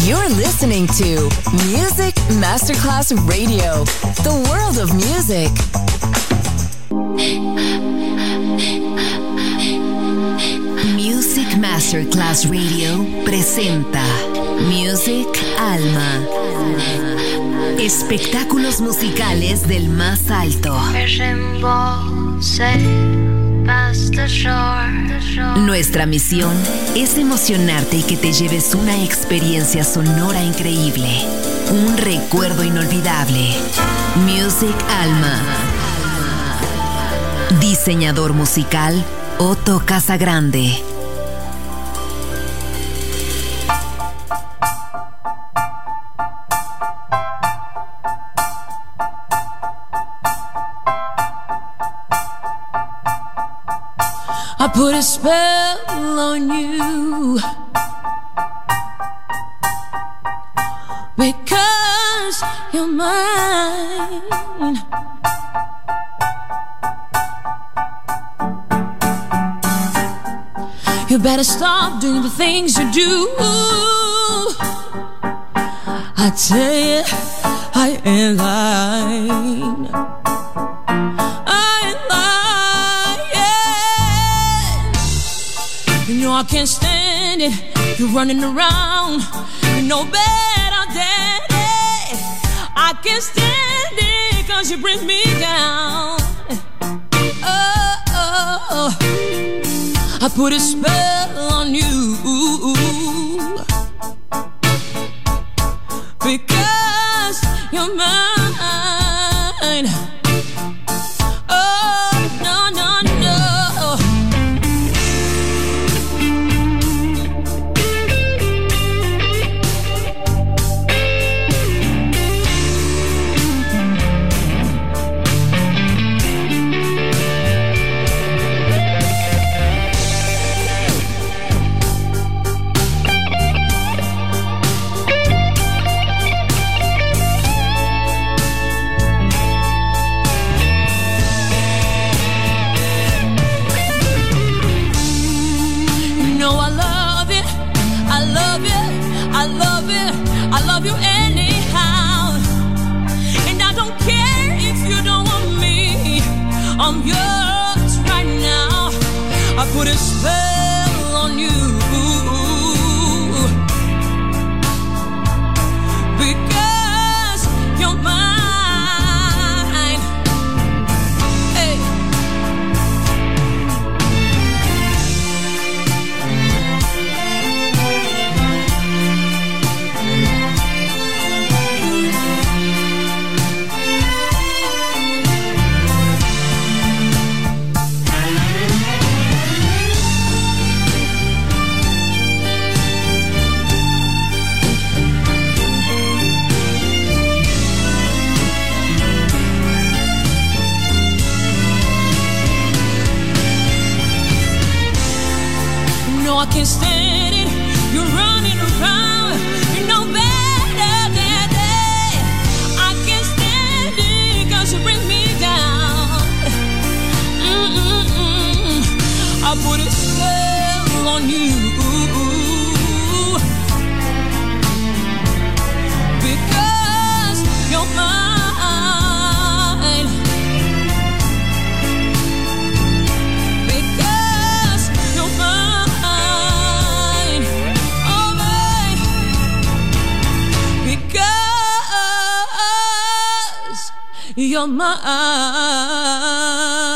You're listening to Music Masterclass Radio, the world of music. Music Masterclass Radio presenta Music Alma. Espectáculos musicales del más alto. Nuestra misión es emocionarte y que te lleves una experiencia sonora increíble, un recuerdo inolvidable. Music Alma. Diseñador musical Otto Casagrande. I put a spell on you because you're mine. You better stop doing the things you do. I tell you, I ain't lying. You know I can't stand it. You're running around. You know better, daddy. I can't stand it 'cause you bring me down. Oh, I put a spell on you because you're mine. I'm yours right now. I put a spell on you because you're mine. Hey. I can't stand it. You're running around. You know better, daddy. I can't stand it 'cause you bring me down. I put a spell on you because you're mine. You're mine.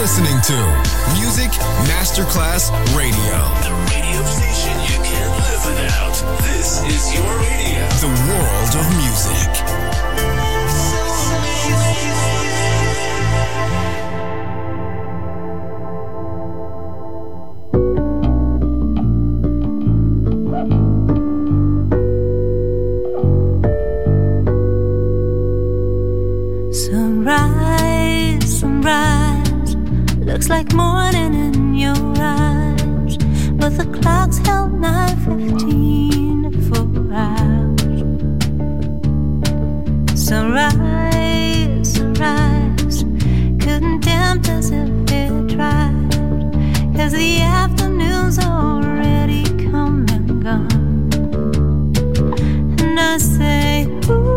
listening to Music Masterclass Radio. The radio station you can't live without. This is your radio. The world of music. Sunrise, sunrise, looks like morning in your eyes, but the clock's held 9:15 for hours. Sunrise, sunrise, couldn't tempt us if it tried, 'cause the afternoon's already come and gone. And I say, ooh,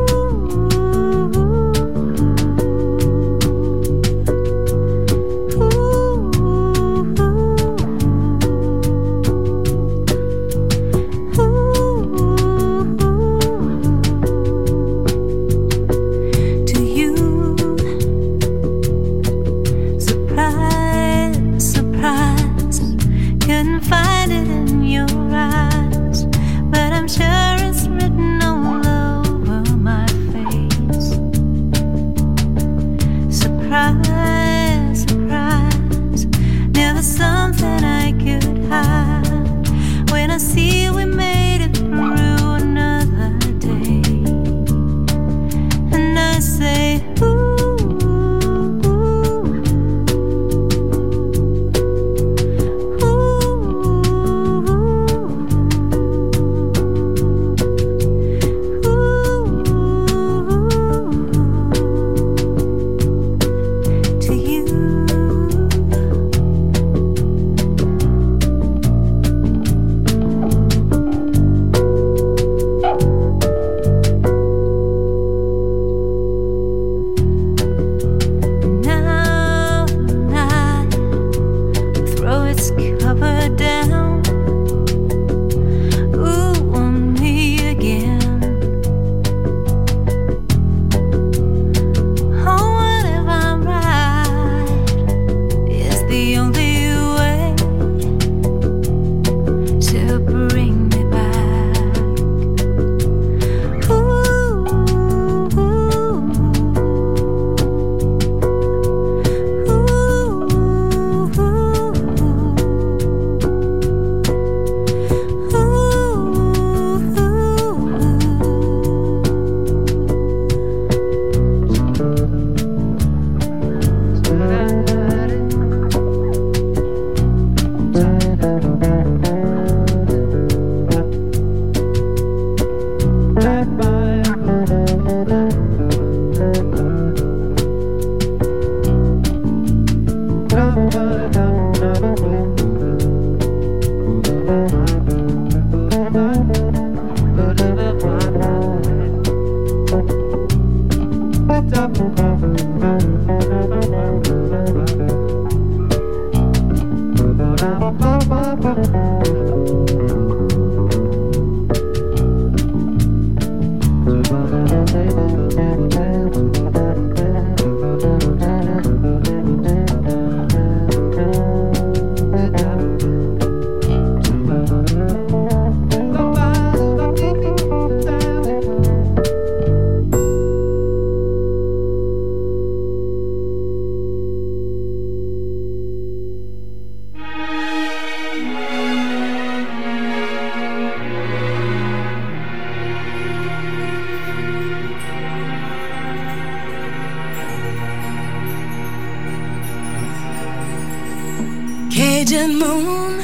Cajun moon,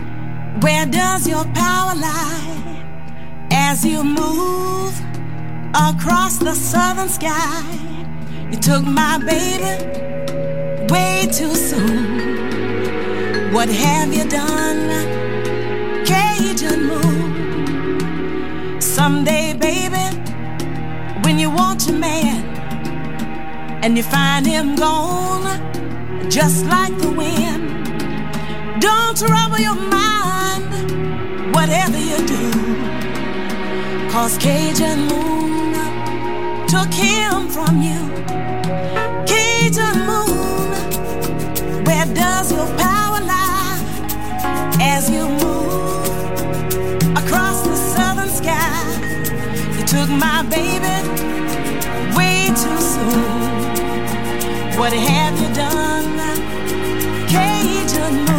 where does your power lie as you move across the southern sky? You took my baby way too soon. What have you done, Cajun moon? Someday, baby, when you want your man and you find him gone, just like the wind, don't trouble your mind, whatever you do, 'cause Cajun moon took him from you. Cajun moon, where does your power lie as you move across the southern sky? You took my baby way too soon. What have you done, Cajun moon?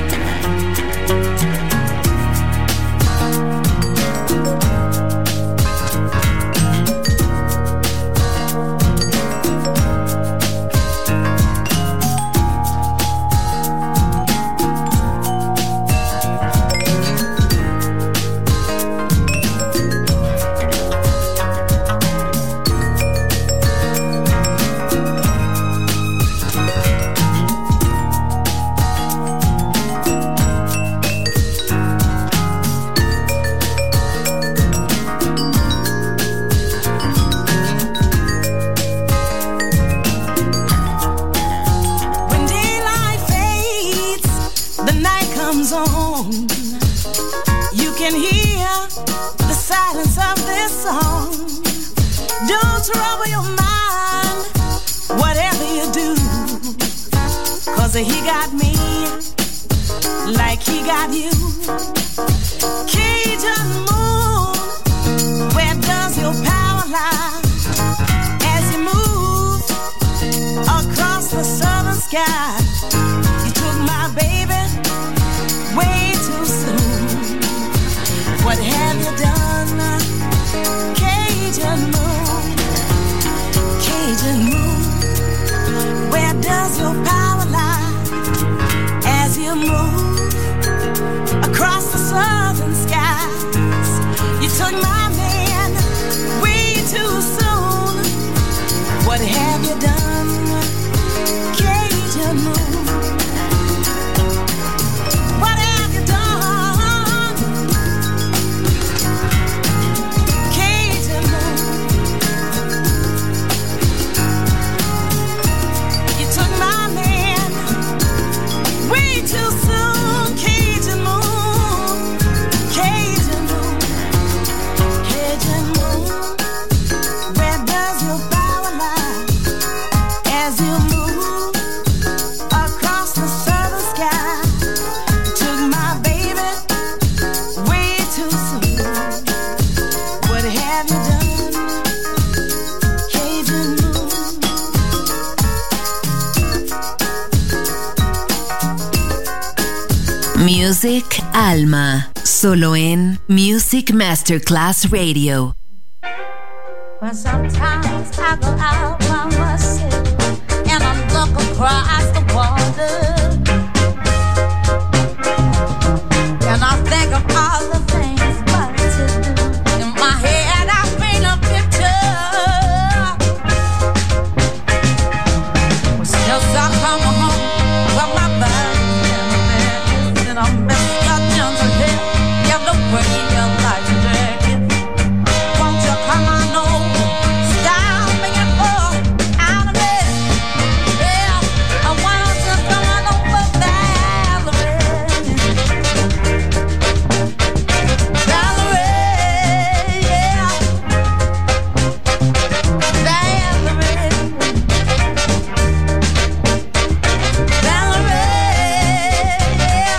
He got me like he got you. Cajun moon, where does your power lie as you move across the southern sky? You took my baby way too soon. What have you done, Cajun moon? Cajun moon, where does your power lie as you move across the southern skies? You took my man way too soon. What have you done, Cajun moon? What have you done, Cajun moon? You took my man way too soon, Cajun moon, Cajun moon, Cajun moon. Where does your power lie as you move across the southern sky? You took my baby way too soon. What have you done, Cajun moon? Music Alma, solo en Music Masterclass Radio. But sometimes I go out by myself and I look across the water, and I think of all the things what to do. In my head I paint a picture. Since I come home, well my body's in a mess, and I miss your gentle hair. You look way you like to drag it. Won't you come on over? Stop making more out of it. Yeah, I want you coming over, Valerie. Valerie, yeah. Valerie. Valerie, yeah.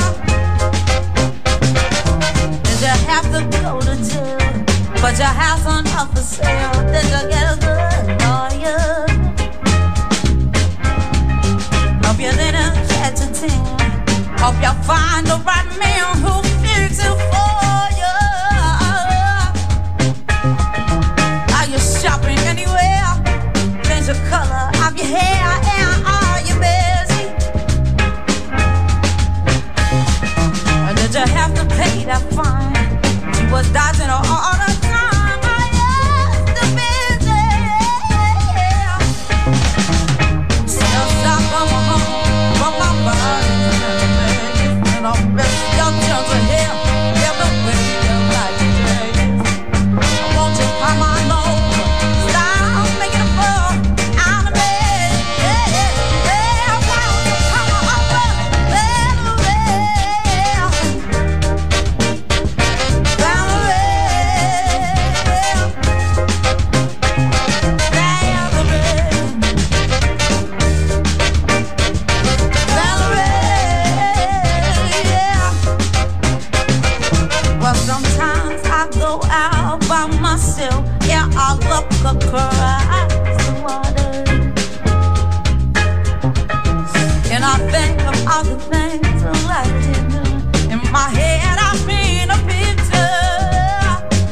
Did you have to go to jail? But your house on up for sale. Did you get a good lawyer? Hope you didn't catch a tan. Hope you find the right man who fix it for you. Are you shopping anywhere? Change the color of your hair, and are you busy? Or did you have to pay that fine? She was dodging her all the time. I used to busy. Still stop coming home from my body, and I'll miss your children. across the water. And I think of all the things I like to do. In my head I paint a picture.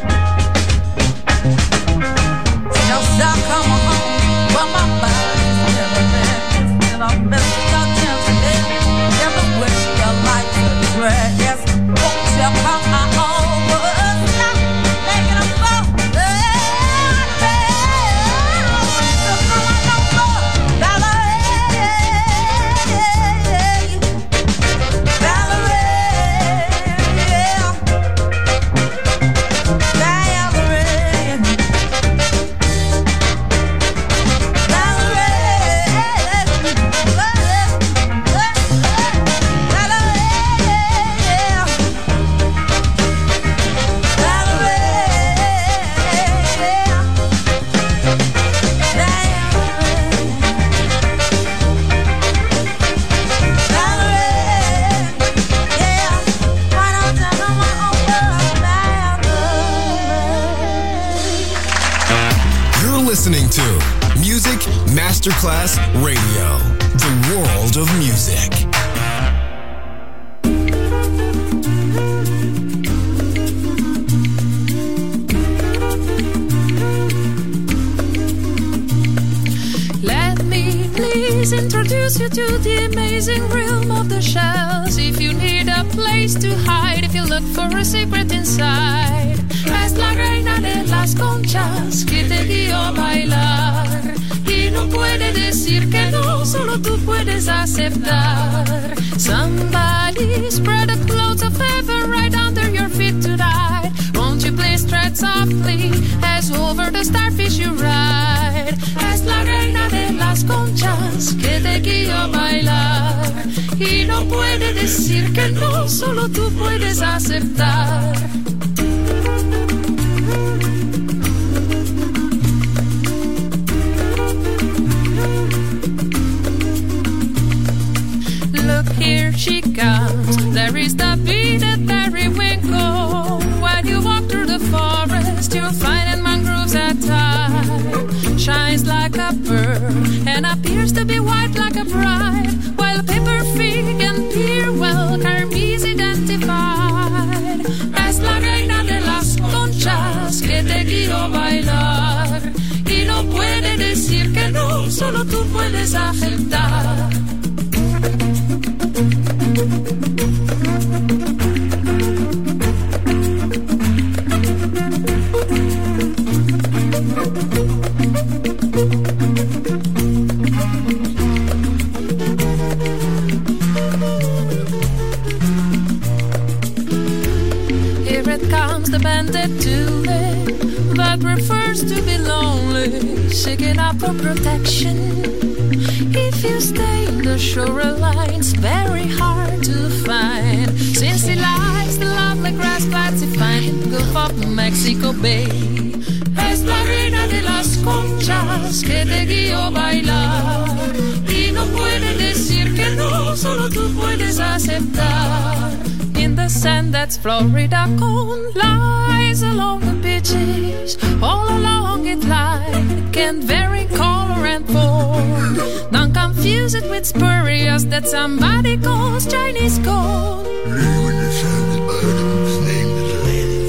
Just I come home, but my body's never been. And I miss your chance again. Everywhere your lights are dress. Won't you come over? Stop making a fuss. Listening to Music Masterclass Radio, the world of music. Let me please introduce you to the amazing realm of the shells. If you need a place to hide, if you look for a secret inside, es la reina de las conchas que te guió a bailar. Y no puede decir que no, solo tú puedes aceptar. Somebody spread a cloud of heaven right under your feet tonight. Won't you please tread softly as over the starfish you ride. Es la reina de las conchas que te guió a bailar. Y no puede decir que no, solo tú puedes aceptar. Look, here she comes. There is the beaded periwinkle. When you walk through the forest, you'll find in mangroves at time. Shines like a pearl and appears to be white like a bride. While paper fig and pearwell Carmie's identified. Es la reina de las conchas que te guió a bailar. Y no puede decir que no, solo tú puedes aceptar. Here it comes, the bandit tulip that prefers to be lonely, seeking out for protection. If you stay in the shoreline's very hard to find, since he likes the lovely grass flats he finds in the Gulf of Mexico Bay. Es la reina de las conchas que te guió a bailar. Y no puede decir que no, solo tú puedes aceptar. In the sand that's Florida cone lies along the beaches. All along it lies, it can vary in color and form. Don't confuse it with spurious that somebody calls Chinese gold. When the sun is burning, his name is Lady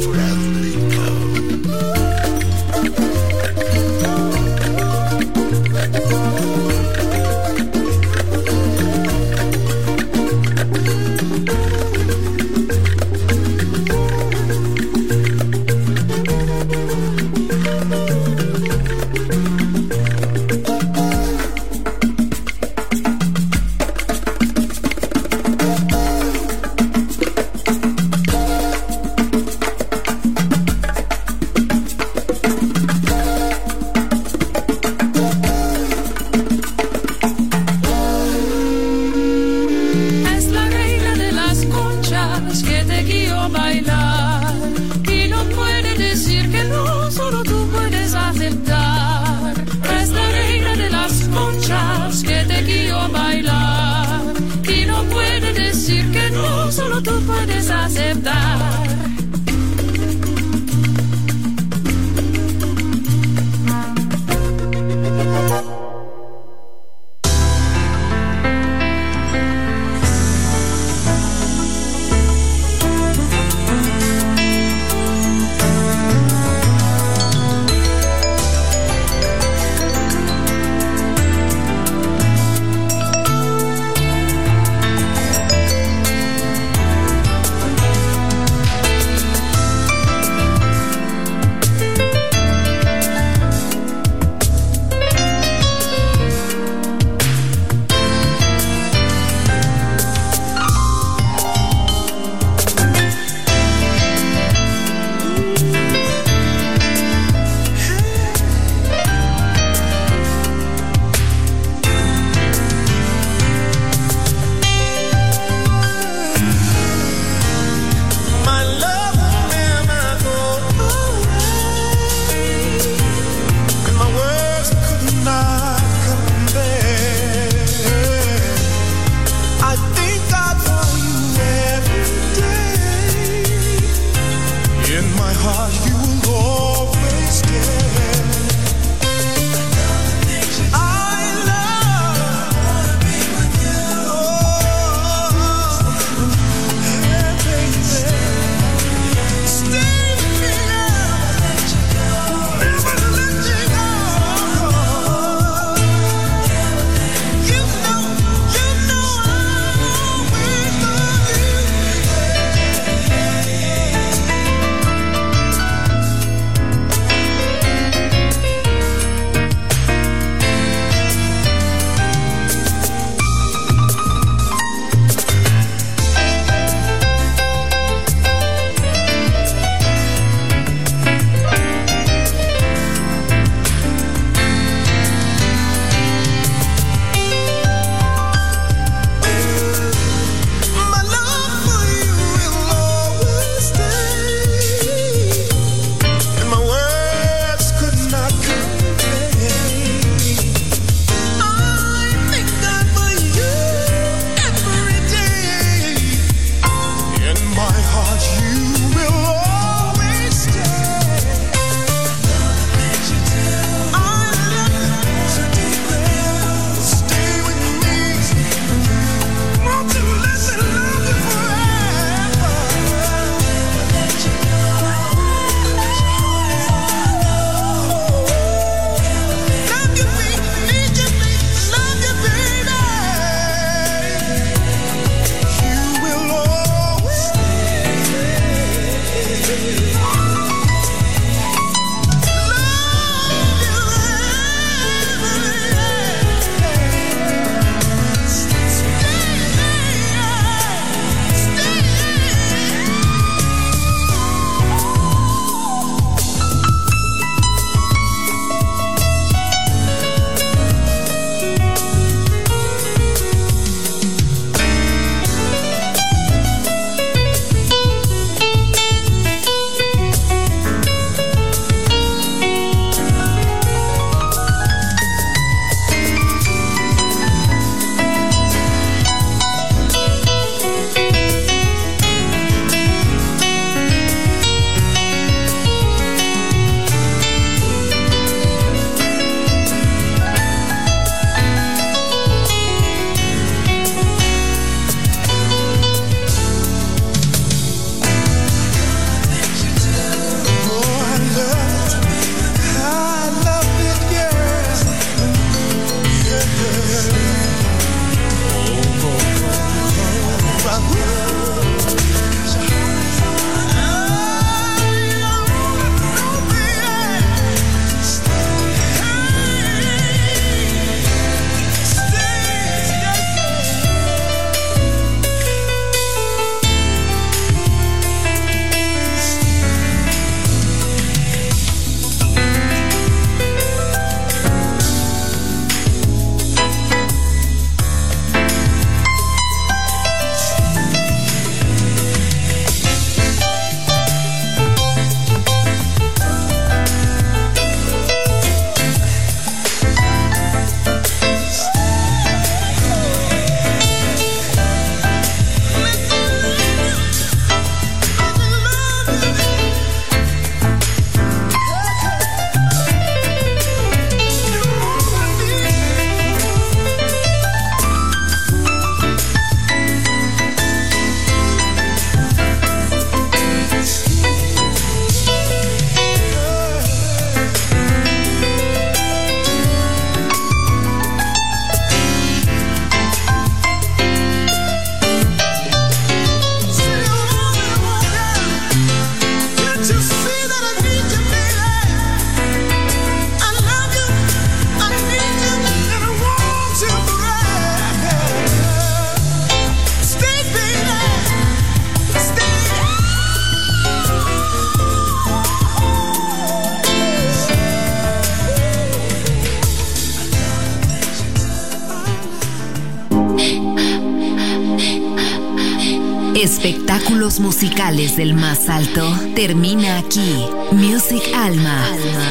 Espectáculos musicales del más alto termina aquí. Music Alma.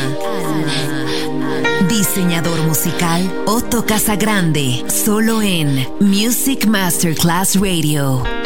Diseñador musical Otto Casagrande, solo en Music Masterclass Radio.